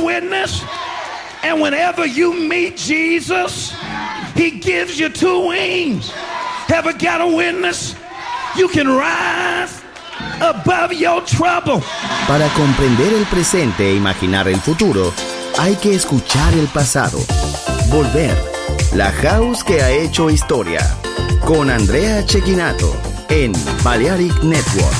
witness? And whenever you meet Jesus, he gives you two wings. Ever got a witness? You can rise above your trouble. Para comprender el presente e imaginar el futuro, hay que escuchar el pasado. Volver. La House que ha hecho historia. Con Andrea Cecchinato en Balearic Network.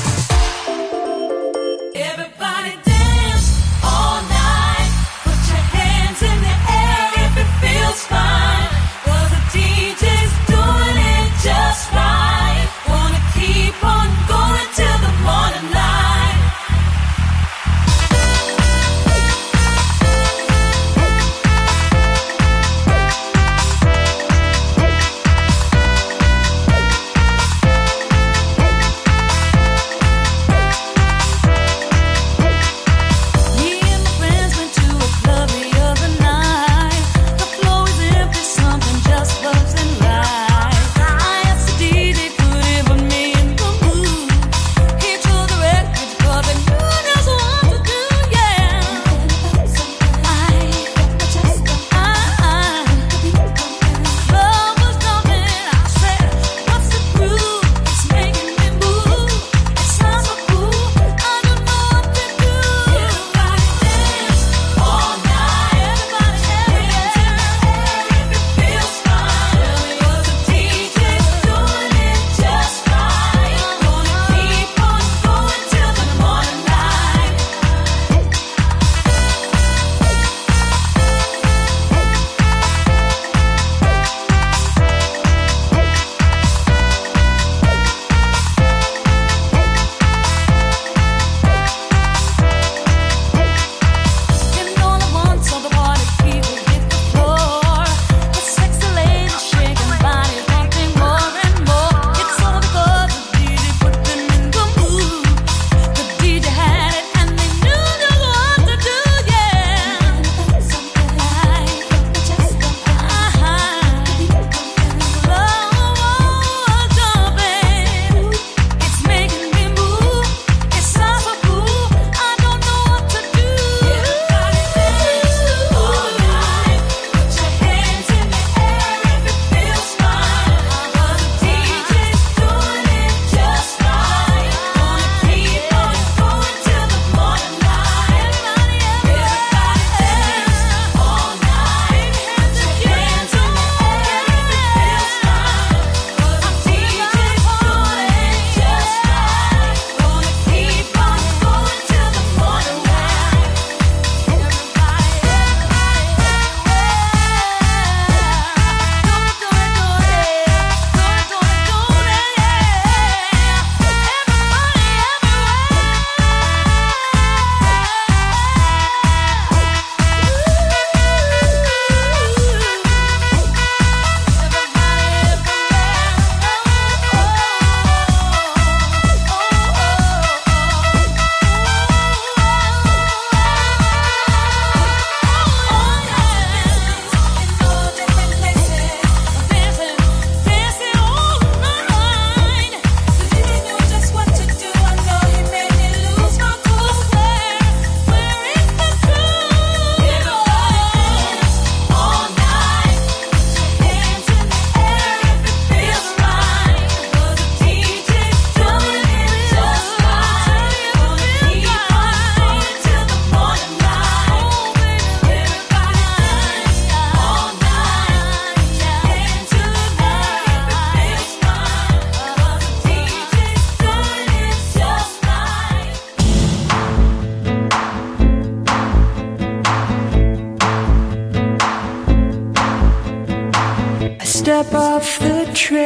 step off the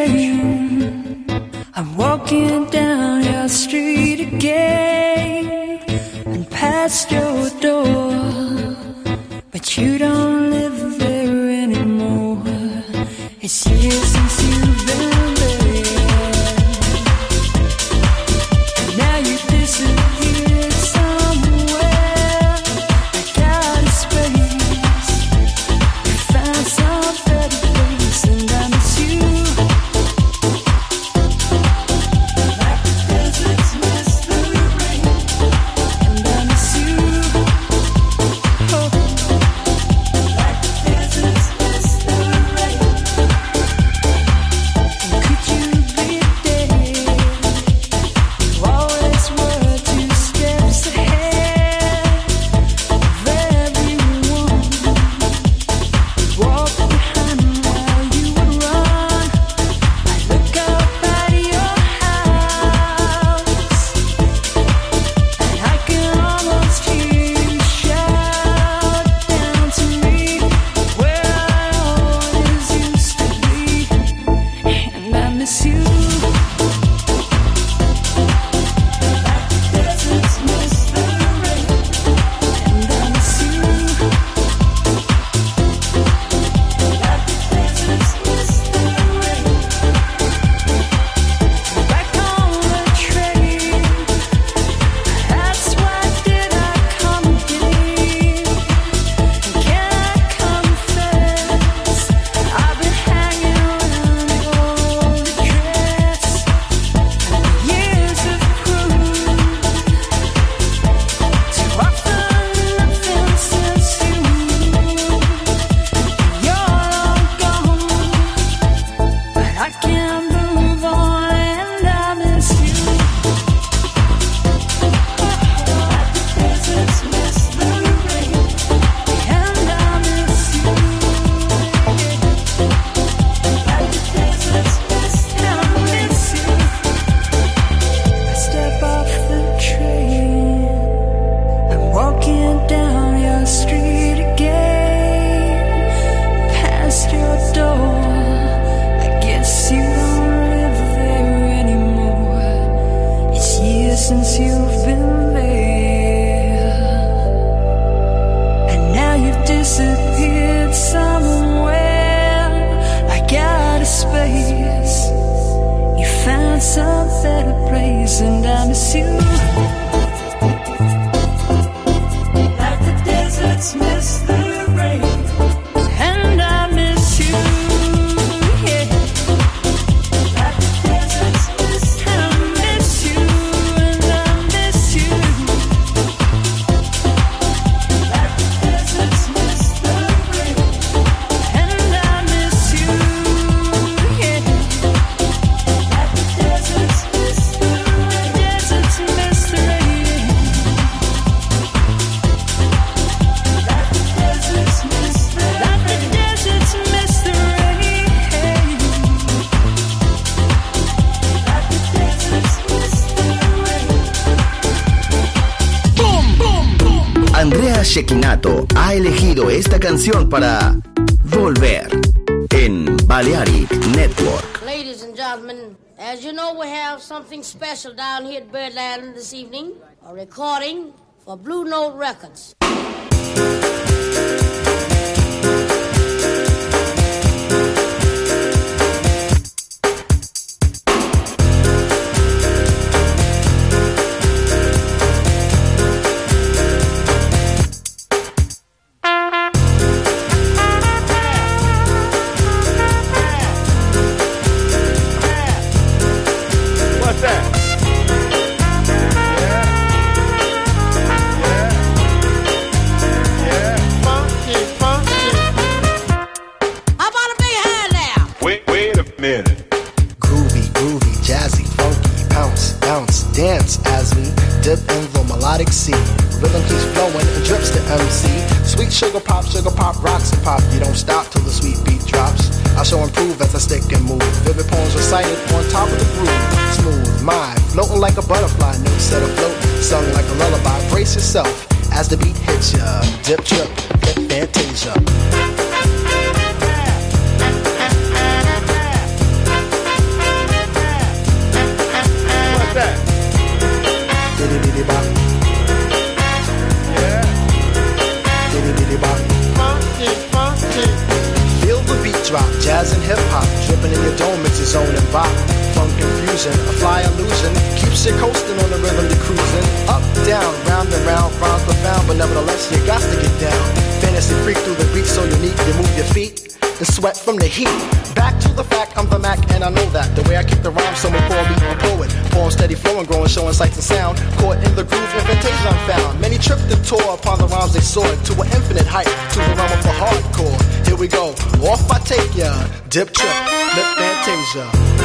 train, I'm walking down your street again and past your door, but you don't live there anymore. It's years since you've been there, and now you disappeared somewhere. I got a space, you found some better place, and I miss you like the deserts miss the rain, and I miss you. Oh. disappeared somewhere. I got a space. You found some better place, and I miss you. Like the deserts miss the rain, and I miss you. Yeah. Like the deserts miss the rain, I miss you, and I miss you. Like the deserts miss the rain, and I miss you. Yeah. Like the deserts miss the rain, deserts miss the rain. Like the deserts miss the rain, like the deserts miss the rain. Like the deserts miss the rain. Andrea Cecchinato ha elegido esta canción para Volver en Balearic Network. Ladies and gentlemen, as you know, we have something special down here at Birdland this evening. A recording for Blue Note Records. What's that? Yeah. Funky, funky. How about a big hand now? Wait a minute. Groovy, groovy, jazzy, funky, bounce, bounce, dance as we dip in the melodic sea. Rhythm keeps flowing and drips to MC. Sweet sugar pop, rocks and pop. You don't stop till the sweet beat drops. I shall improve as I stick and move. Vivid poems recited on top of the groove. Smooth mind, floating like a butterfly. Notes set afloat, sung like a lullaby. Brace yourself as the beat hits ya. Dip, trip, hip, fantasia. What's that? Diddy-diddy-bop, Yeah. diddy-diddy-bop. Funky, funky. Feel the beat drop, jazz and hip-hop. Dripping in your dome, it's your zone and bop. Funk confusion, a fly illusion. Keeps you coasting on the rhythm you're cruising. Up, down, round and round, rhymes profound. But nevertheless, you got to get down. Fantasy freak through the beat so unique. You move your feet and sweat from the heat. Back to the fact, I'm the Mac and I know that. The way I kick the rhyme, someone call me a poet. Poem steady flowing, growing, showing sights and sound. Caught in the groove, in fantasia I'm found. Many tripped and tore upon the rhymes they soared. To an infinite height, to the realm of the hardcore. Here we go, off I take ya. Dip trip, lip fantasia.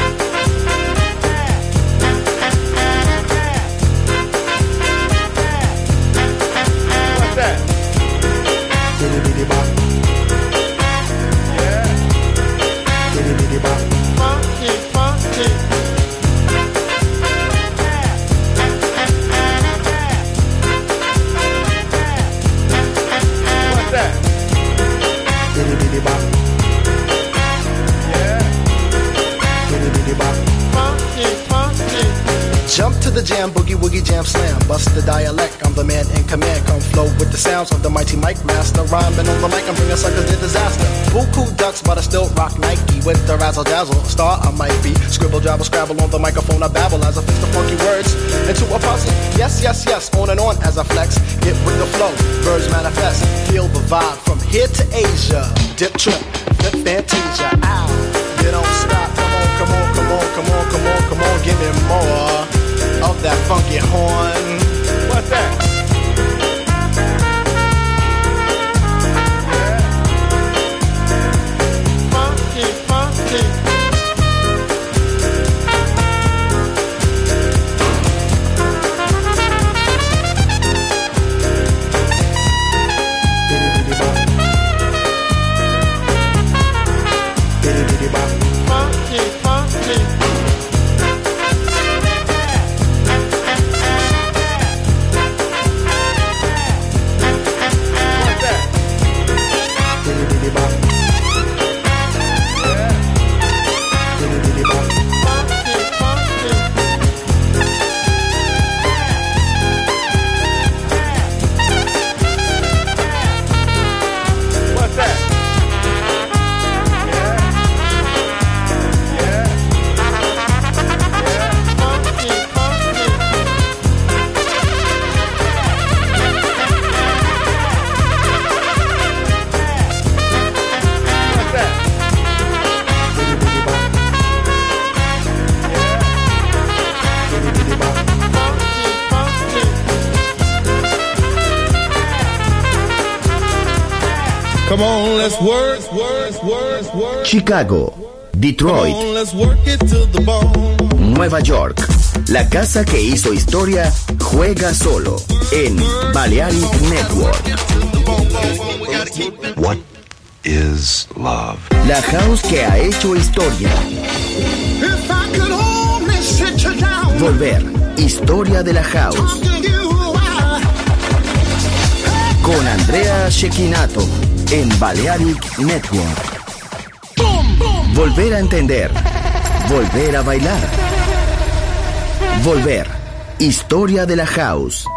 What's that? Diddy-diddy-bop, Yeah. diddy-diddy-bop. Funky, funky. What's that? Diddy-diddy-bop, Yeah. diddy-diddy-bop. Funky, funky. Jump to the jam, boogie woogie jam slam. Bust the dialect, I'm the man in command. Come flow with the sounds of the mighty mic master. Rhyming on the mic, I'm bringing suckers to disaster. Buku ducks, but I still rock Nike. With the razzle dazzle, star I might be. Scribble, jabble, scrabble on the microphone, I babble as I fix the funky words into a puzzle. Yes, yes, yes, on and on as I flex. Get with the flow, birds manifest. Feel the vibe from here to Asia. Dip trip, flip fantasia. Ow, you don't stop. Come on, come on, come on, come on, come on, come on, give me more of that funky horn. What's that? Yeah. Funky, funky. Biddy-biddy-bop, biddy-biddy-bop. Funky, funky. Come on, let's work. Chicago, Detroit, Come on, let's work it to the bone. Nueva York. La casa que hizo historia juega solo en Balearic Network. What is love? La house que ha hecho historia. If I could only sit you down, Volver, historia de la house. talk to you while Con Andrea Cecchinato en Balearic Network. Volver a entender. Volver a bailar. Volver, historia de la house.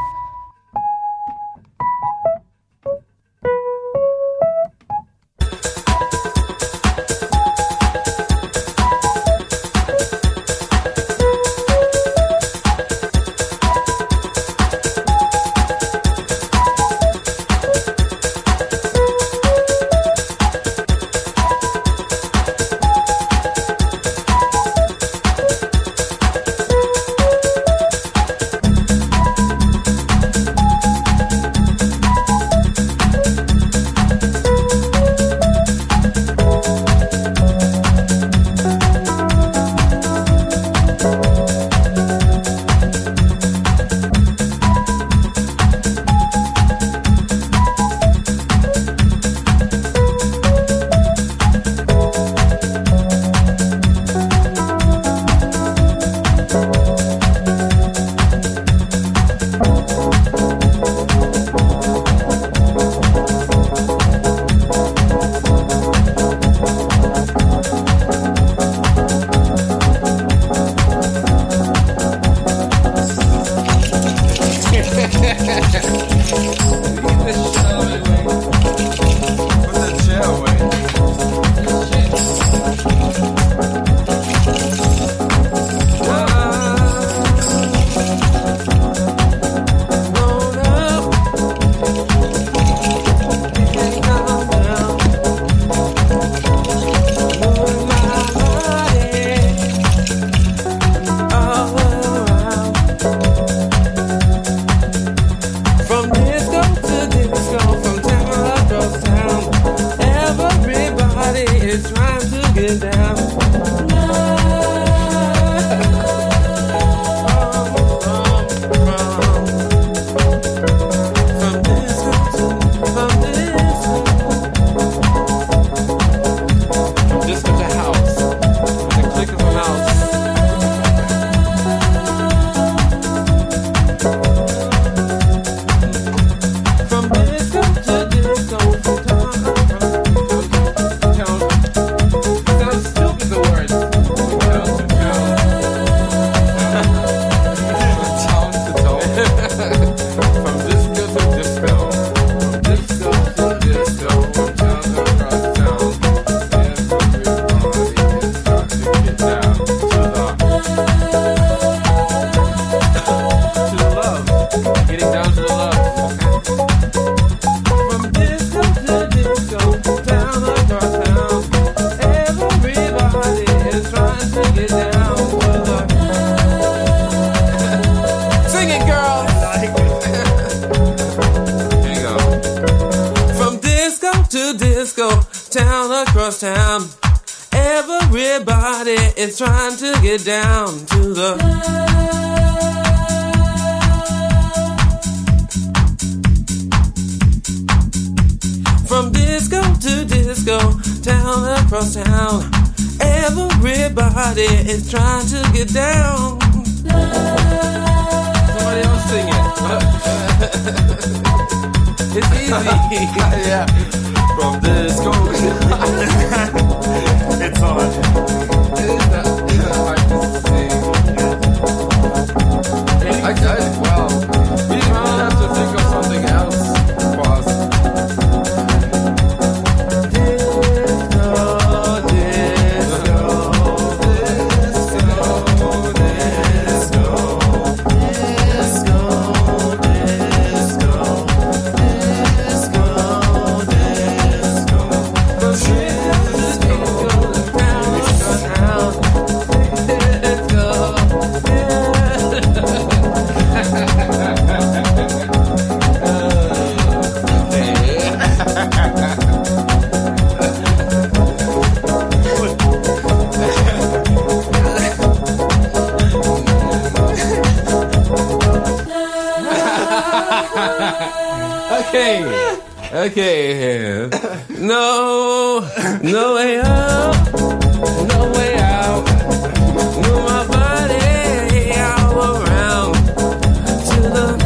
Okay. No way out. No way out. Move my body all around to the.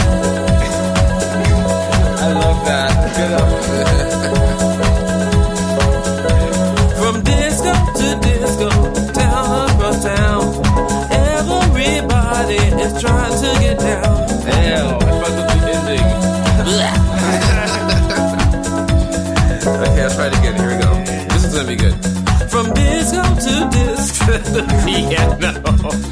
I love that. Get up. From disco to disco, town across town, everybody is trying to get down. Hell, I fucked up the ending. Okay, I'll try it again. Here we go. This is gonna be good. From disco to disco to the piano.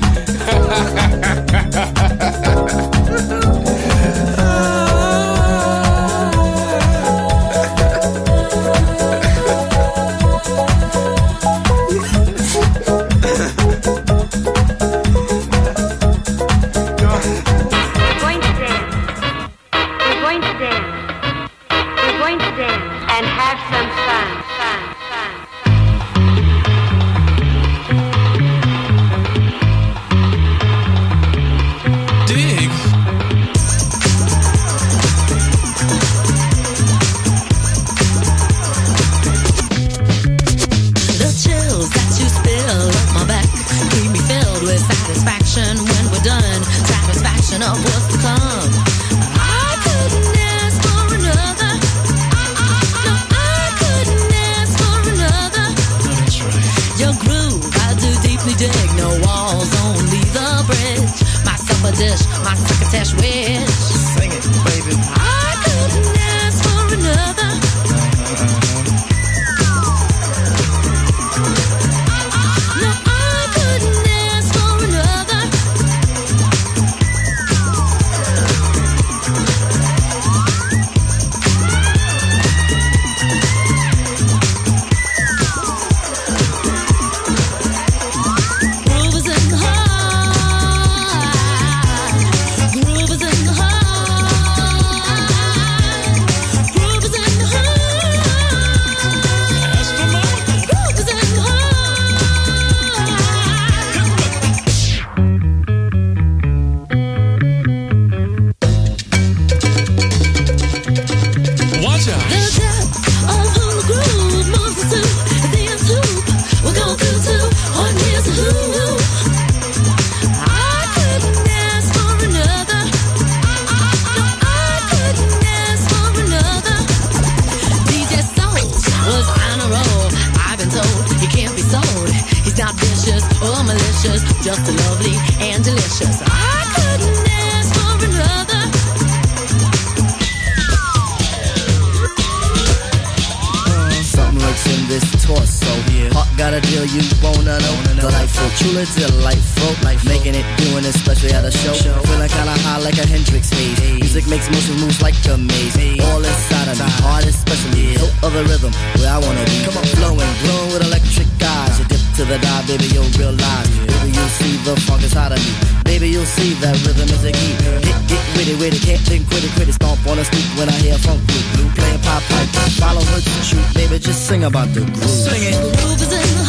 About the groove. Sing it. The groove is in the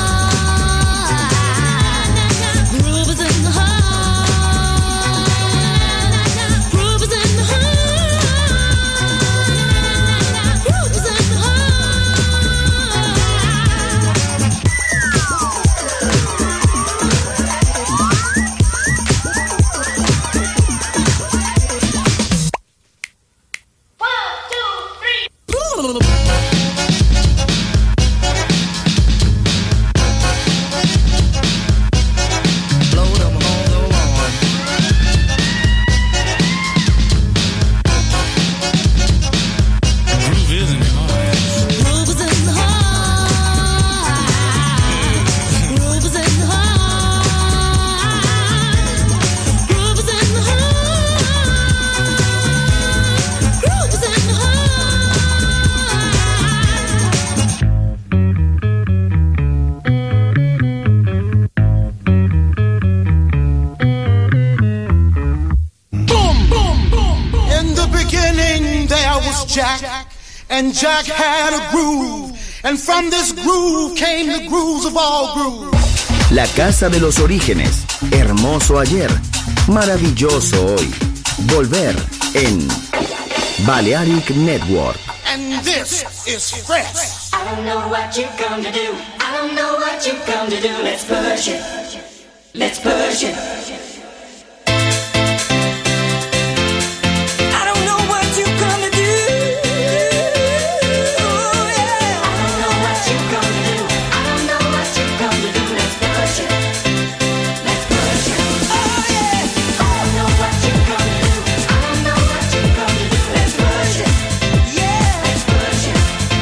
heart. Groove is in the heart. Groove is in the heart. Groove is in the And Jack had a groove, and from this groove came the grooves of all grooves. La casa de los orígenes, hermoso ayer, maravilloso hoy. Volver en Balearic Network. And this is fresh. I don't know what you come to do. I don't know what you come to do. Let's push it. Let's push it. I don't know what you come to do. Yeah. I don't know what you come to do. I don't know what you come to do. Let's push it. Let's push it. Oh yeah. I don't know what you come to do. I don't know what you come to do. Let's push it. Yeah. Let's push it.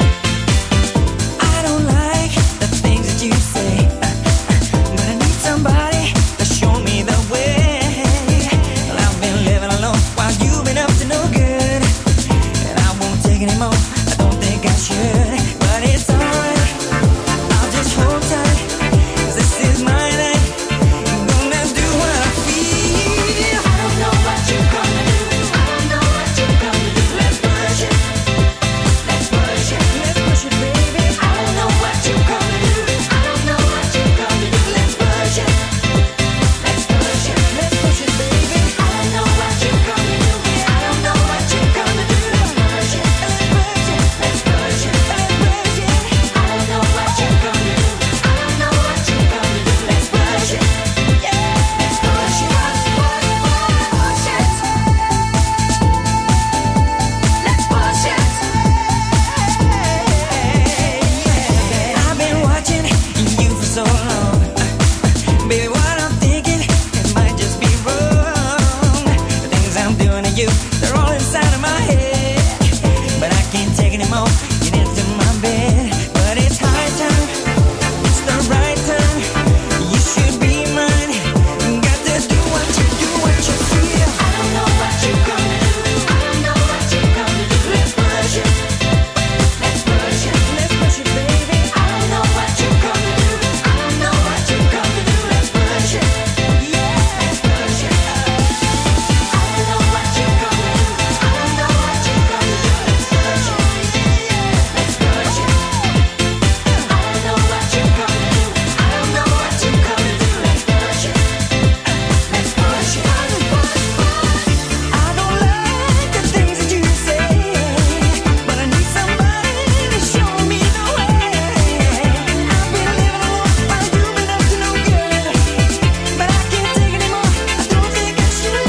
I don't like the things that you say, but I need somebody to show me the way. Well, I've been living alone while you've been up to no good, and I won't take anymore. I don't think I should, but it's alright. I'll just hold tight, 'cause this is my night. I'm gonna do what I feel. I don't know what you come to do. I don't know what you come to do. Let's push it. Let's push it. Let's push it, baby. I don't know what you come to do. I don't know what you come to do. Let's push it. Let's push it. Let's push it, baby. I don't know what you come to do. I don't know what you come to do. Let's push it. Let's push it. Let's push it. Let's push it. I don't know what you come to do. I don't know what you come to do. Let's push it. Yeah. Let's push it. Push it. Let's push it. I've been watching you for so long. Baby, what I'm thinking, it might just be wrong. The things I'm doing to you, they're all inside of my head. But I can't take anymore, get into my bed. But it's high time, it's the right time. You should be mine. Got to do what you feel. I don't know what you come to do. I don't know what you come to do. Let's push it. Let's push it. Let's push it, baby. I don't know what you come to do. I don't know what you come to do. Let's push it. Yeah. Let's push it. I don't know what you come to do. I don't know what you come to do. Let's push it. Let's push it. I don't know what you come to do. I don't know what you come to do. Let's push it. Let's push it. I don't like the things that you say, but I need somebody to show me the way. I've been living alone while you've been up to no good, but I can't take anymore. I don't think I should.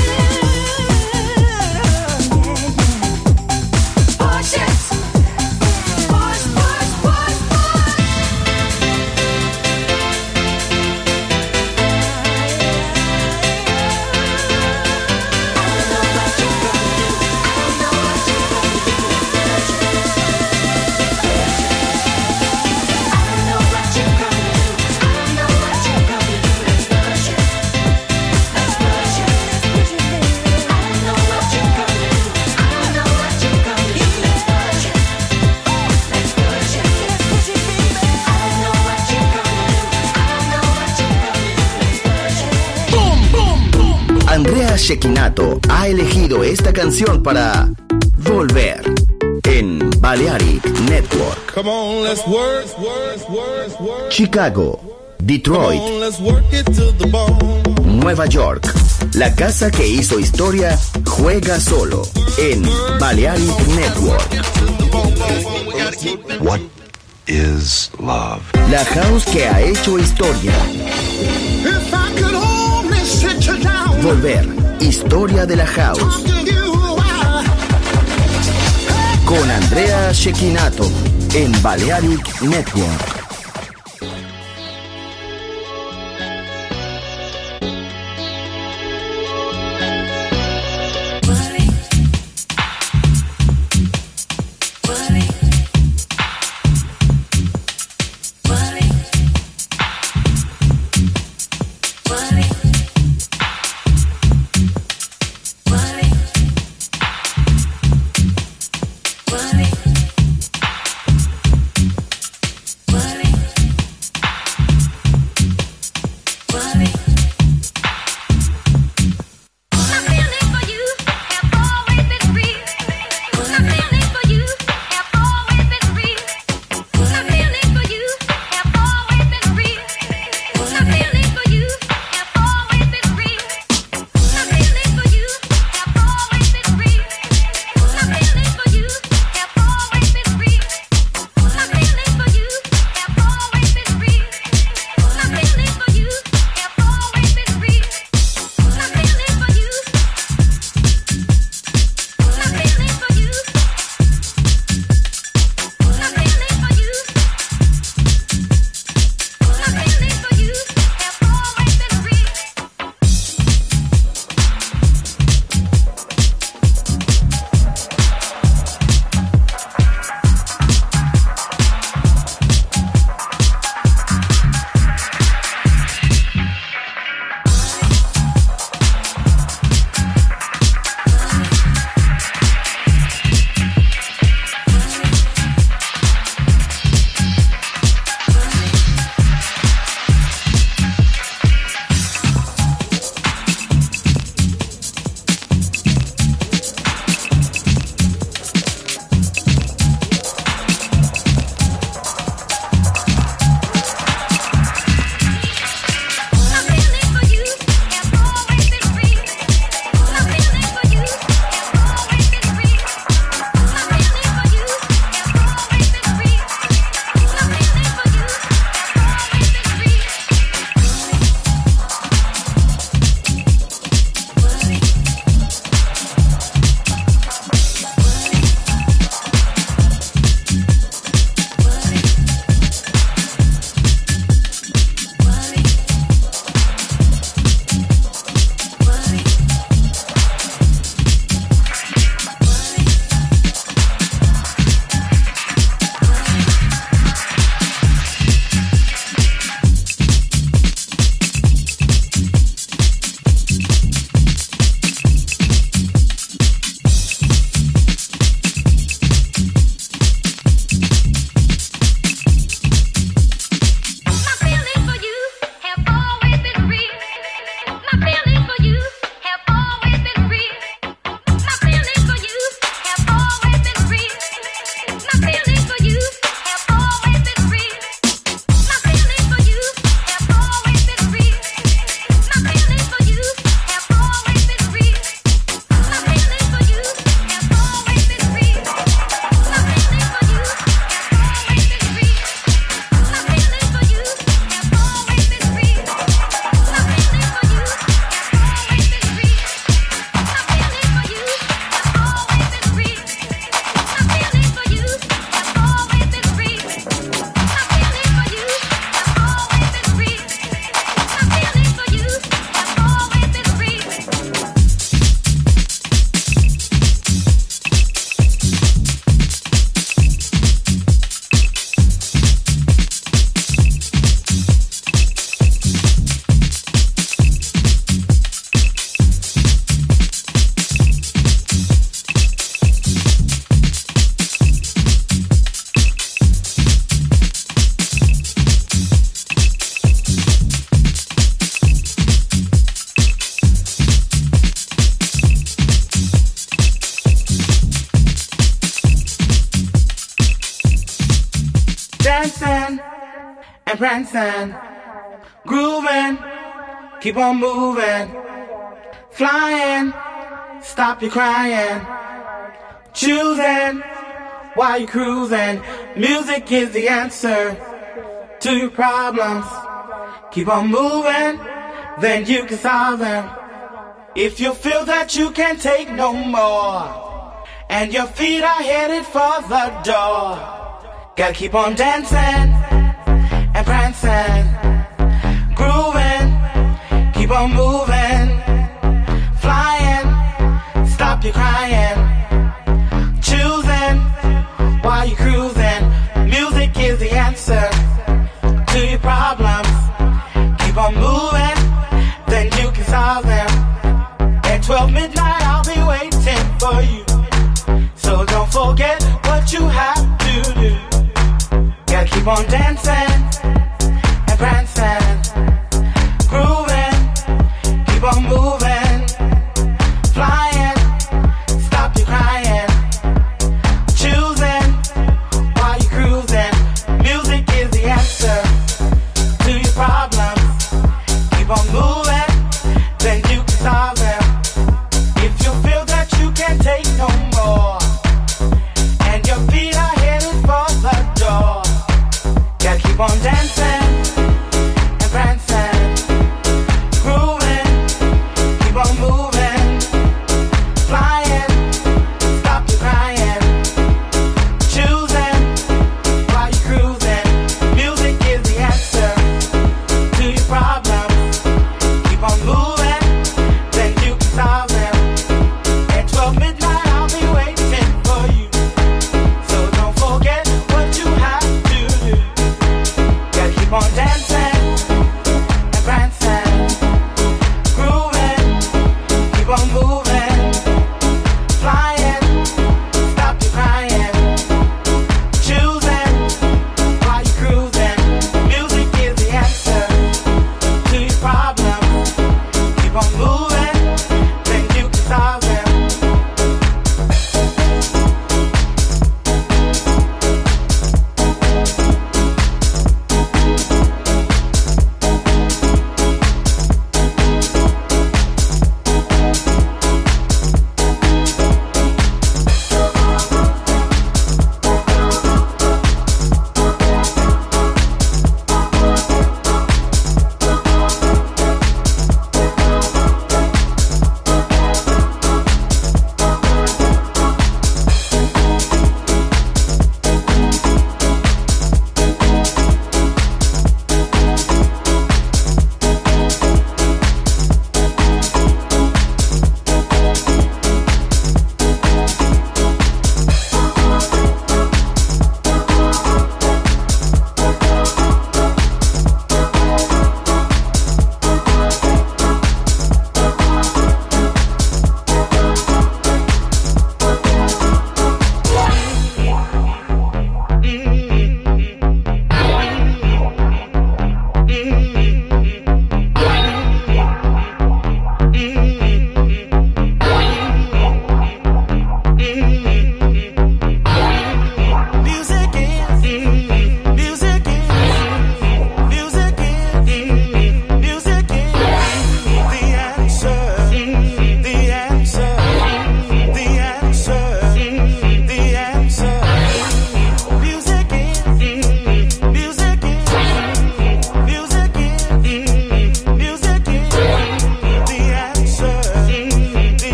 Push it. Push, push, push, push. Andrea Cecchinato ha elegido esta canción para Volver en Balearic Network. Come on, let's work. Chicago, Detroit, Come on, let's work it to the bone. Nueva York. La casa que hizo historia juega solo en Balearic Network. What is love? La house que ha hecho historia. If I could only sit you down, Volver, historia de la house. talk to you while Con Andrea Cecchinato en Balearic Network. What dancing and prancing, grooving, keep on moving, flying, stop your crying, choosing while you're cruising. Music is the answer to your problems. Keep on moving, then you can solve them. If you feel that you can't take no more, and your feet are headed for the door, gotta keep on dancing and prancing, grooving, keep on moving, flying, stop your crying, choosing while you're cruising. Music is the answer to your problems. Keep on moving, then you can solve them. At 12 midnight I'll be waiting for you, so don't forget what you have to do. Gotta keep on dancing and prancing, grooving, keep on moving, flying, stop your crying, choosing while you're cruising. Music is the answer to your problems. Keep on moving, then you can solve them. If you feel that you can't take no more, and your feet are headed for the door, gotta keep on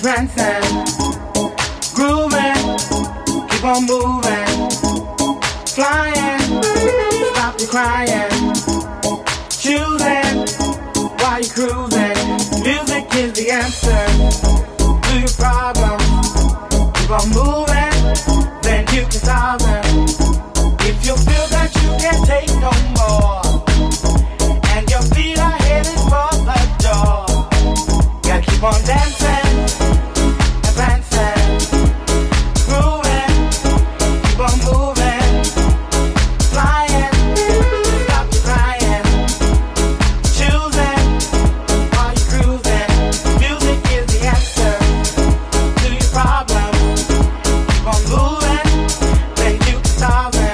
prancing, grooving, keep on moving, flying, stop your crying, choosing while you're cruising. Music is the answer to your problems. Keep on moving, then you can solve them. If you feel that you can't take no more, and your feet are headed for the door, gotta keep on dancing and prancing, grooving, keep on moving, flying, stop your crying, choosing while you're cruising. Music is the answer to your problems. Keep on moving, then you can solve them.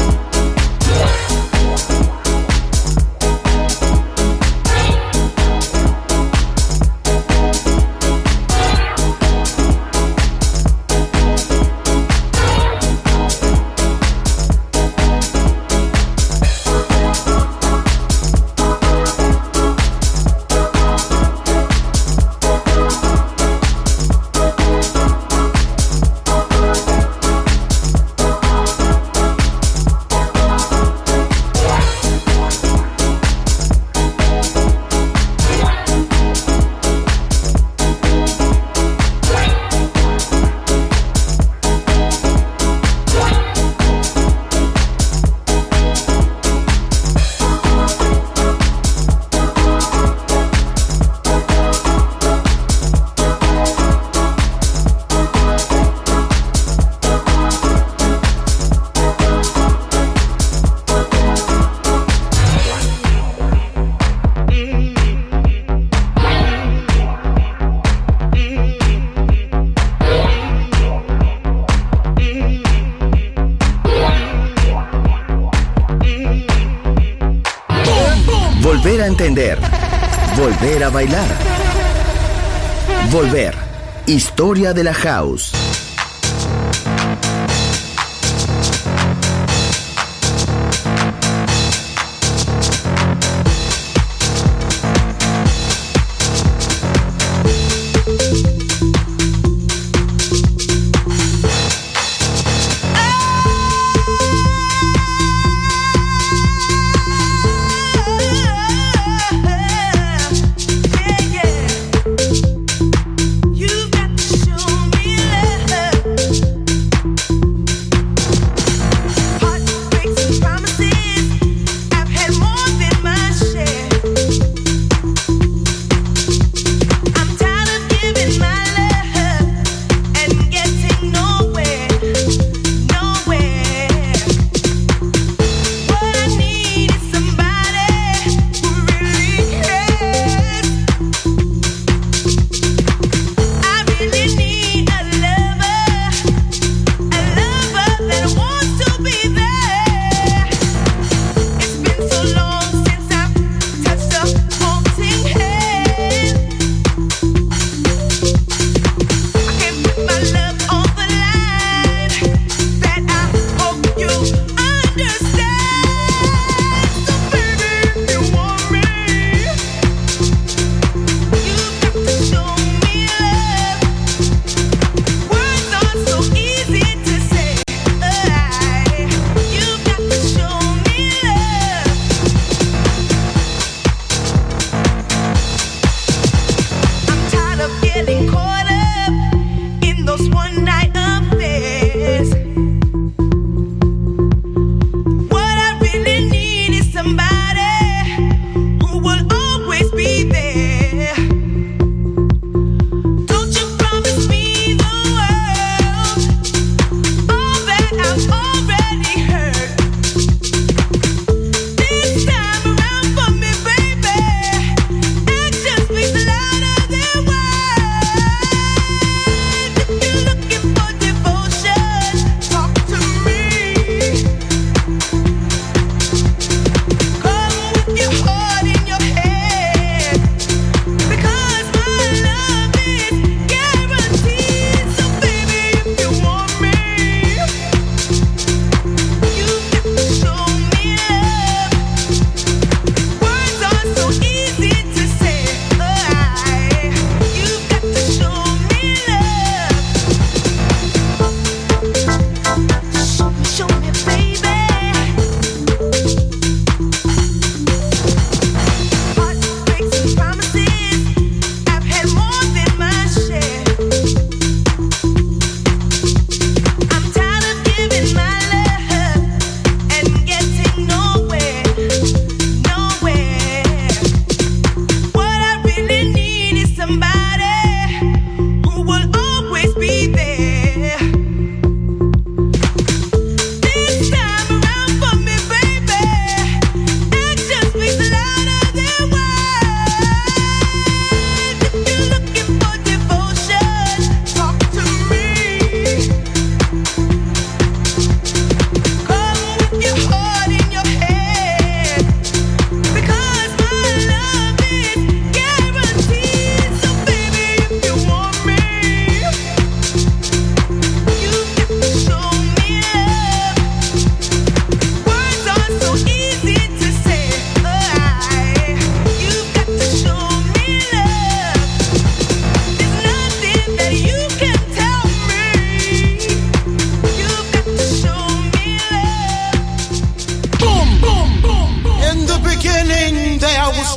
Volver a entender. Volver a bailar. Volver. Historia de la house. You've got to show me love.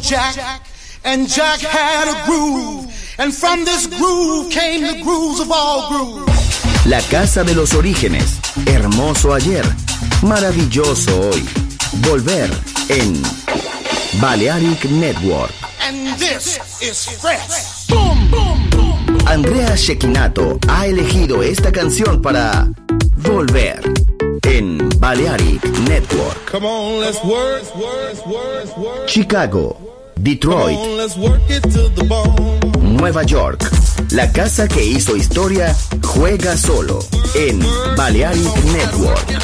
Jack, and Jack had a groove, and from this groove came the grooves of all grooves. La casa de los orígenes, hermoso ayer, maravilloso hoy. Volver en Balearic Network. And this is fresh. Boom, boom, boom. Andrea Cecchinato ha elegido esta canción para Volver en Balearic Network. Come on, let's work. Chicago, Detroit, Come on, let's work it to the bone. Nueva York. La casa que hizo historia juega solo en Balearic Network.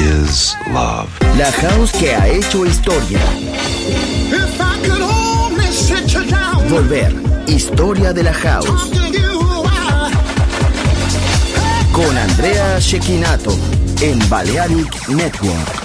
is love. La house que ha hecho historia. If I could only sit you down, Volver. Historia de la house. talk to you, Con Andrea Cecchinato en Balearic Network.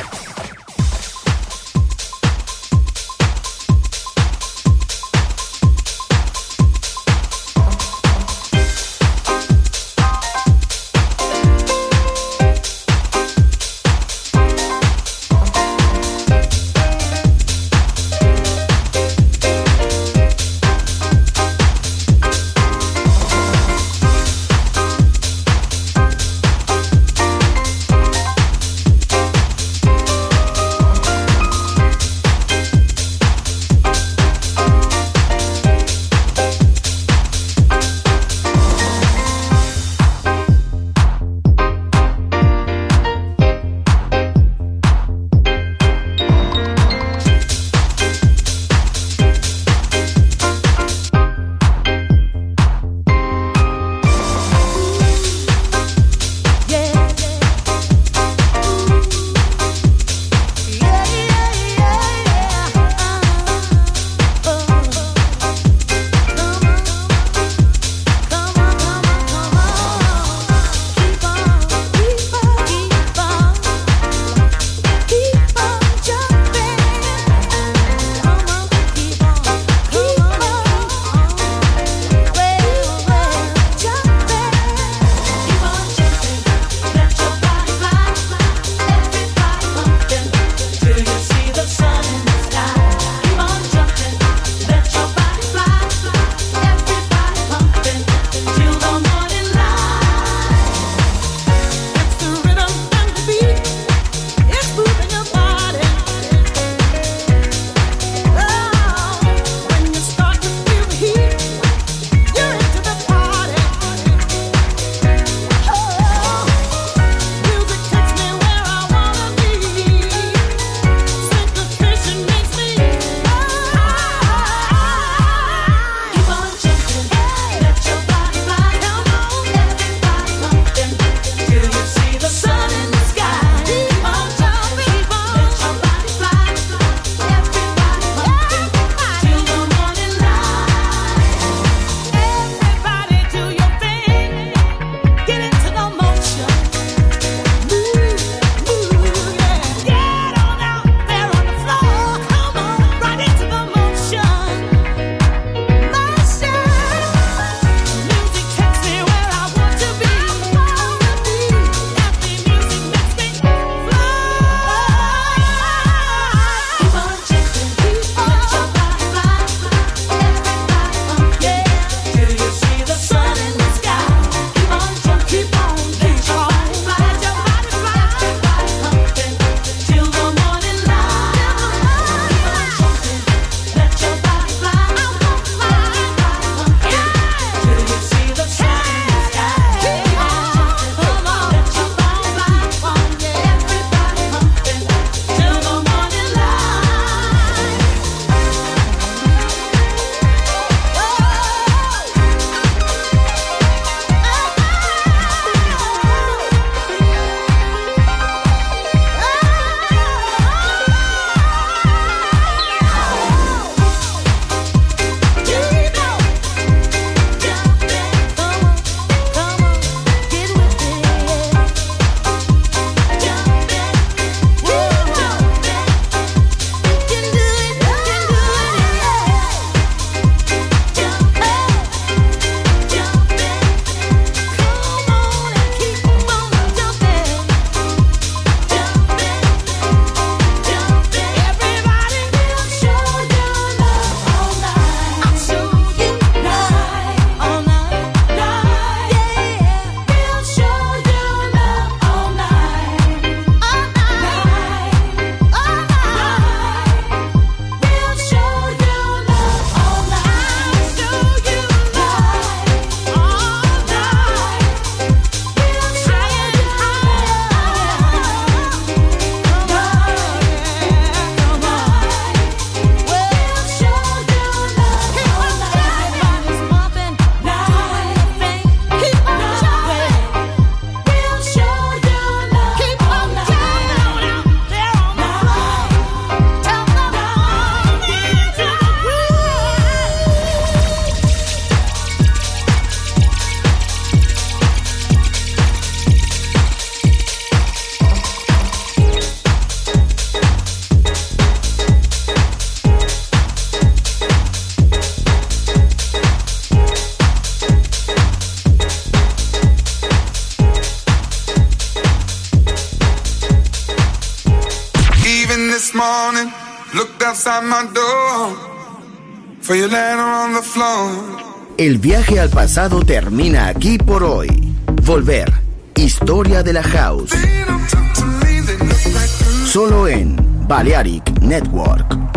this morning, looked outside my door for your letter on the floor. El viaje al pasado termina aquí por hoy. Volver. Historia de la House. Solo en Balearic Network.